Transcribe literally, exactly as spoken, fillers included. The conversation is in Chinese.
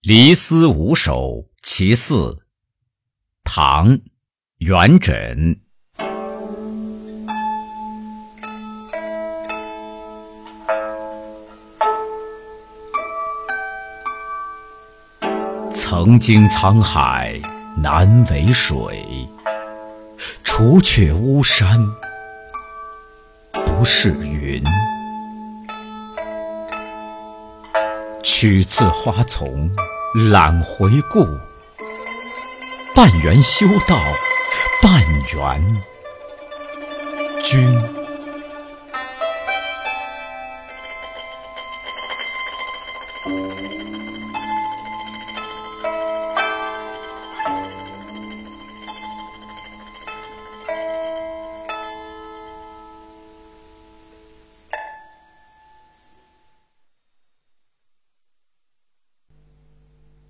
离思五首其四，唐·元稹。曾经沧海难为水，除却巫山不是云。取次花丛懒回顾，半缘修道半缘君。